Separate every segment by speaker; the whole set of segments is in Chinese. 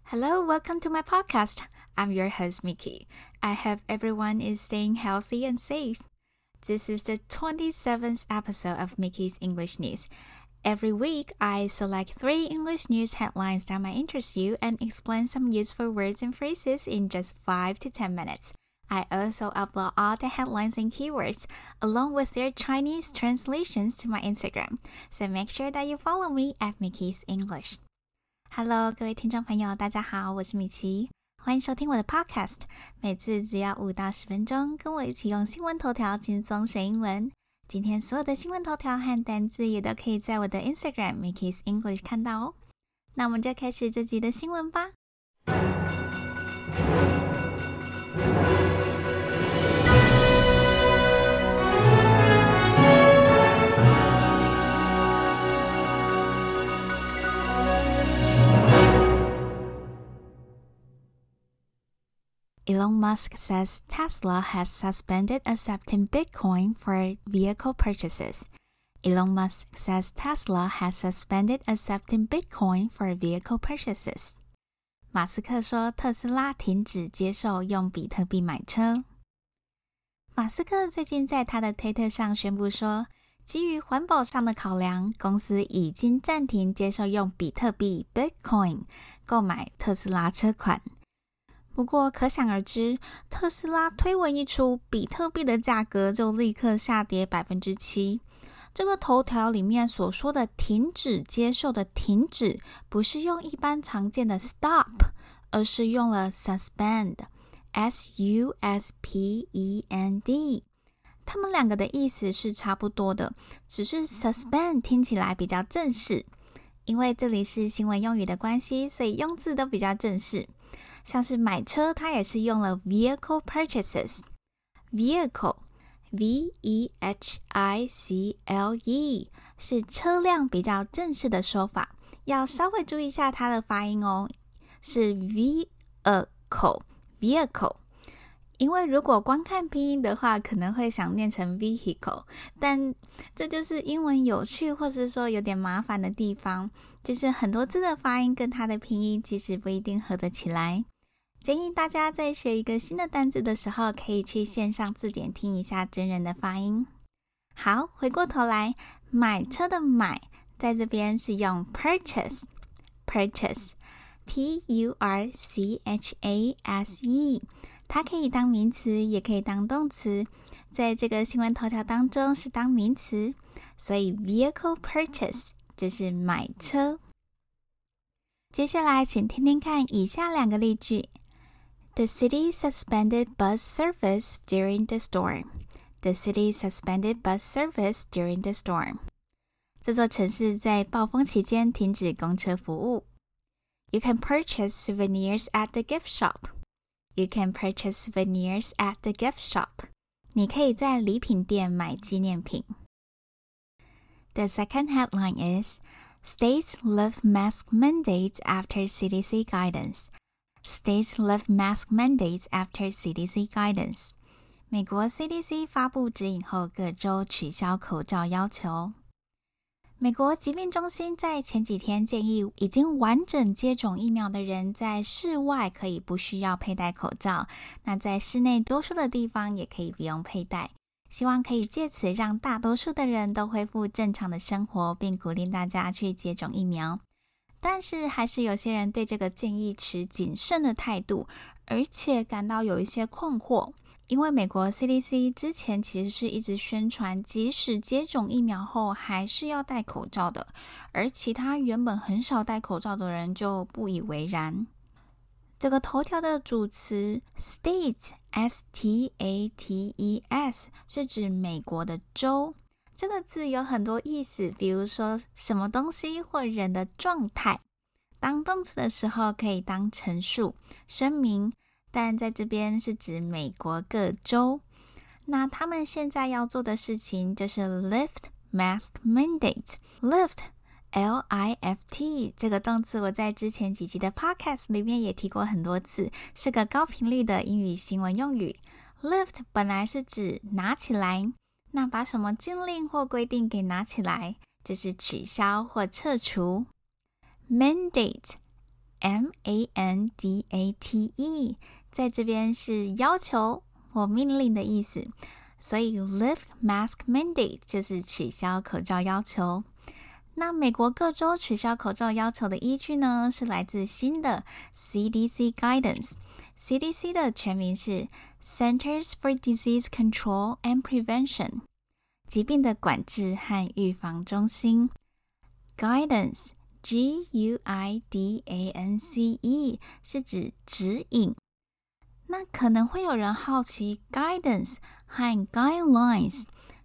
Speaker 1: Hello, welcome to my podcast. I'm your host, Mickey. I hope everyone is staying healthy and safe. This is the 27th episode of Mickey's English News. Every week, I select 3 English news headlines that might interest you and explain some useful words and phrases in just 5 to 10 minutes. I also upload all the headlines and keywords, along with their Chinese translations to my Instagram. So make sure that you follow me at Mickey's English.Hello， 各位听众朋友，大家好，我是米奇，欢迎收听我的 podcast。每次只要5到10分钟，跟我一起用新闻头条轻松学英文。今天所有的新闻头条和单字也都可以在我的 Instagram Mickey's English 看到哦。那我们就开始这集的新闻吧。Elon Musk says Tesla has suspended accepting Bitcoin for vehicle purchases. Elon Musk says Tesla has suspended accepting Bitcoin for vehicle purchases. 马斯克说特斯拉停止接受用比特币买车。马斯克最近在他的推特上宣布说，基于环保上的考量，公司已经暂停接受用比特币 Bitcoin 购买特斯拉车款。不过可想而知，特斯拉推文一出，比特币的价格就立刻下跌 7%。 这个头条里面所说的停止接受的停止，不是用一般常见的 stop， 而是用了 suspend， S-U-S-P-E-N-D。 它们两个的意思是差不多的，只是 suspend 听起来比较正式。因为这里是新闻用语的关系，所以用字都比较正式。像是买车，它也是用了 vehicle purchases。 vehicle V-E-H-I-C-L-E 是车辆比较正式的说法，要稍微注意一下它的发音哦，是 vehicle。 因为如果光看拼音的话，可能会想念成 vehicle， 但这就是英文有趣或是说有点麻烦的地方，就是很多字的发音跟它的拼音其实不一定合得起来。建议大家在学一个新的单字的时候，可以去线上字典听一下真人的发音。好，回过头来，买车的买在这边是用 purchase P-U-R-C-H-A-S-E， 它可以当名词也可以当动词，在这个新闻头条当中是当名词，所以 vehicle purchase 就是买车。接下来请听听看以下2个例句。The city suspended bus service during the storm. The city suspended bus service during the storm. 这座城市在暴风期间停止公车服务。You can purchase souvenirs at the gift shop. You can purchase souvenirs at the gift shop. 你可以在礼品店买纪念品。The second headline is States lift mask mandates after CDC guidance. States lift mask mandates after CDC guidance. 美国 CDC 发布指引后，各州取消口罩要求。美国疾病中心在前几天建议，已经完整接种疫苗的人在室外可以不需要佩戴口罩，那在室内多数的地方也可以不用佩戴。希望可以借此让大多数的人都恢复正常的生活，并鼓励大家去接种疫苗。但是还是有些人对这个建议持谨慎的态度，而且感到有一些困惑。因为美国 CDC 之前其实是一直宣传，即使接种疫苗后还是要戴口罩的，而其他原本很少戴口罩的人就不以为然。这个头条的主词 States S-T-A-T-E-S 是指美国的州。这个字有很多意思，比如说什么东西或人的状态。当动词的时候可以当陈述、声明，但在这边是指美国各州。那他们现在要做的事情就是 lift mask mandates。 lift L-I-F-T 这个动词我在之前几集的 podcast 里面也提过很多次，是个高频率的英语新闻用语。 lift 本来是指拿起来，那把什么禁令或规定给拿起来，就是取消或撤除。mandate mandate， 在这边是要求或命令的意思，所以 lift mask mandate 就是取消口罩要求。那美国各州取消口罩要求的依据呢，是来自新的 CDC Guidance。CDC 的全名是 Centers for Disease Control and Prevention， 疾病的管制和预防中心。Guidance Guidance 是指指引。那可能会有人好奇 Guidance 和 Guidelines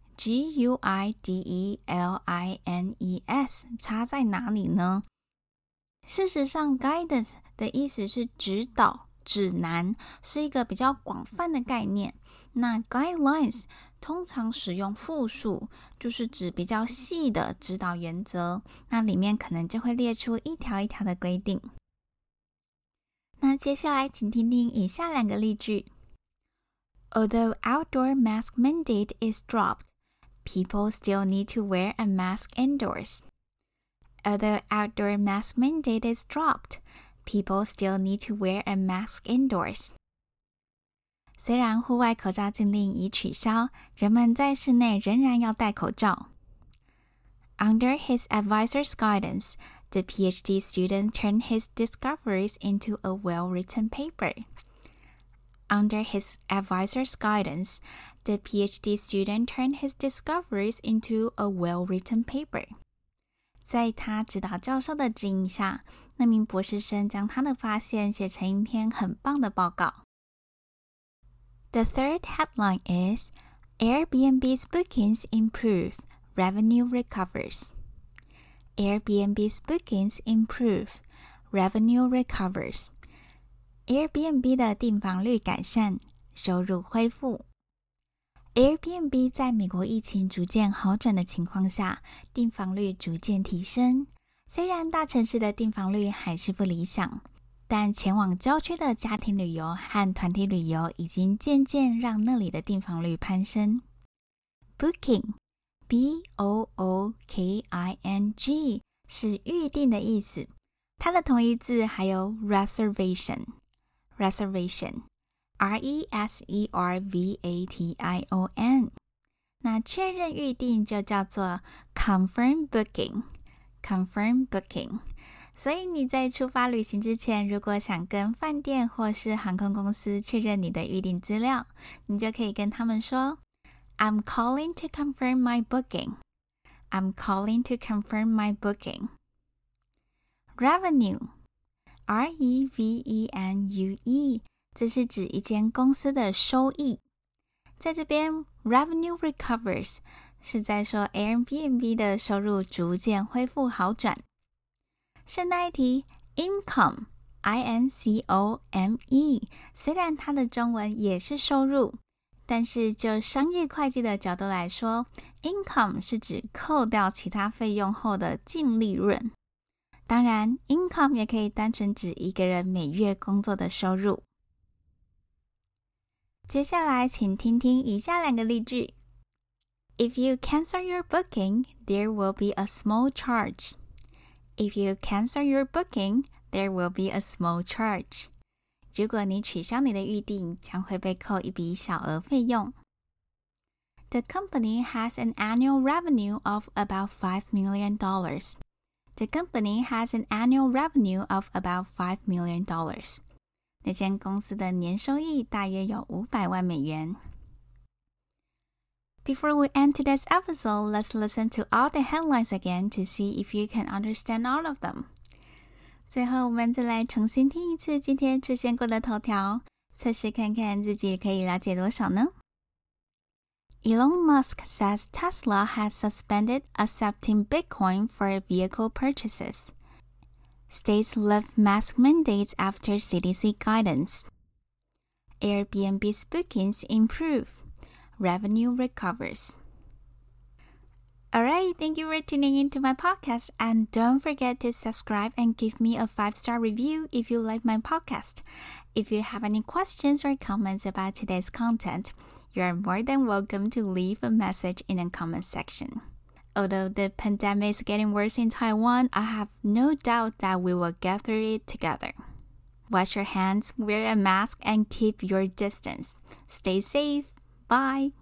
Speaker 1: Guidelines 差在哪里呢？事实上 Guidance 的意思是指导、指南，是一个比较广泛的概念。那 Guidelines 通常使用复数，就是指比较细的指导原则，那里面可能就会列出一条一条的规定。那接下来请听听以下两个例句。Although outdoor mask mandate is dropped, people still need to wear a mask indoors. Although outdoor mask mandate is dropped, people still need to wear a mask indoors. 虽然户外口罩禁令已取消，人们在室内仍然要戴口罩。Under his advisor's guidance, the PhD student turned his discoveries into a well-written paper. Under his advisor's guidance, the PhD student turned his discoveries into a well-written paper. 在他指导教授的指引下，那名博士生将他的发现写成一篇很棒的报告。The third headline is Airbnb's bookings improve, revenue recovers. Airbnb's bookings improve, revenue recovers. Airbnb 的订房率改善，收入恢复。Airbnb 在美国疫情逐渐好转的情况下，订房率逐渐提升。虽然大城市的订房率还是不理想，但前往郊区的家庭旅游和团体旅游已经渐渐让那里的订房率攀升。Booking B-O-O-K-I-N-G 是预订的意思，它的同义字还有 reservation R-E-S-E-R-V-A-T-I-O-N。 那确认预订就叫做 confirm booking。所以你在出发旅行之前，如果想跟饭店或是航空公司确认你的预订资料，你就可以跟他们说 I'm calling to confirm my booking. I'm calling to confirm my booking. Revenue R-E-V-E-N-U-E 这是指一间公司的收益。在这边 revenue recovers 是在说 Airbnb 的收入逐渐恢复好转。顺带一提 income I-N-C-O-M-E 虽然它的中文也是收入，但是就商业会计的角度来说， income 是指扣掉其他费用后的净利润。当然 income 也可以单纯指一个人每月工作的收入。接下来请听听以下两个例句。If you cancel your booking, there will be a small charge. If you cancel your booking, there will be a small charge. 如果你取消你的预订，将会被扣一笔小额费用。The company has an annual revenue of about $5 million. The company has an annual revenue of about $5 million. 那间公司的年收益大约有500万美元。Before we end today's episode, let's listen to all the headlines again to see if you can understand all of them. 最后我们再来重新听一次今天出现过的头条，测试看看自己可以了解多少呢？ Elon Musk says Tesla has suspended accepting Bitcoin for vehicle purchases. States lift mask mandates after CDC guidance. Airbnb's bookings improve. Revenue recovers. Alright, thank you for tuning into my podcast, and don't forget to subscribe and give me a 5-star review if you like my podcast. If you have any questions or comments about today's content, you are more than welcome to leave a message in the comment section. Although the pandemic is getting worse in Taiwan, I have no doubt that we will get through it together. Wash your hands, wear a mask, and keep your distance. Stay safe. Bye.